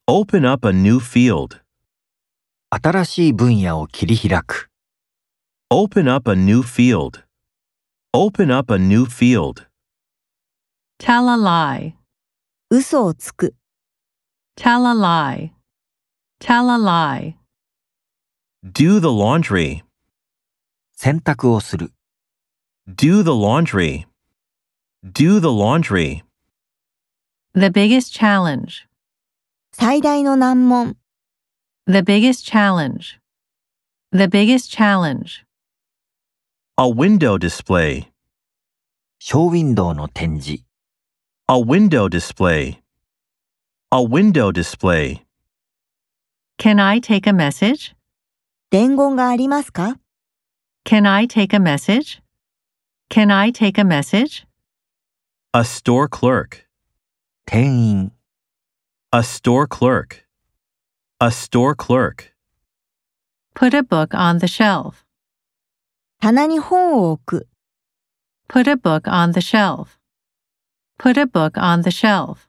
Open up a new field. 新しい分野を切り開く。 Open up a new field. Open up a new field. Tell a lie. 嘘をつく。 Tell a lie. Tell a lie. Do the laundry. 洗濯をする。 Do the laundry. Do the laundry. The biggest challenge. 最大の難問。 The biggest challenge. The biggest challenge. A window display. ショーウィンドウの展示。 A window display. A window display. Can I take a message? 伝言がありますか？ Can I take a message? Can I take a message? A store clerk. 店員。 A store clerk. A store clerk. Put a book on the shelf. 棚に本を置く。 Put a book on the shelf. Put a book on the shelf.